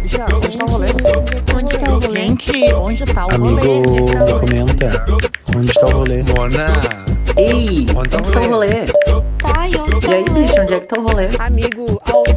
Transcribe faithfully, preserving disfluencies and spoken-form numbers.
Bicha, onde tá o rolê? Onde tá o rolê? Gente, onde tá o Amigo, rolê? comenta. Onde está o rolê? Mona! Ei! Onde tá o Onde tá o rolê? Tá, e onde tá E aí, o rolê? bicho, onde é que tá o rolê? Amigo, aonde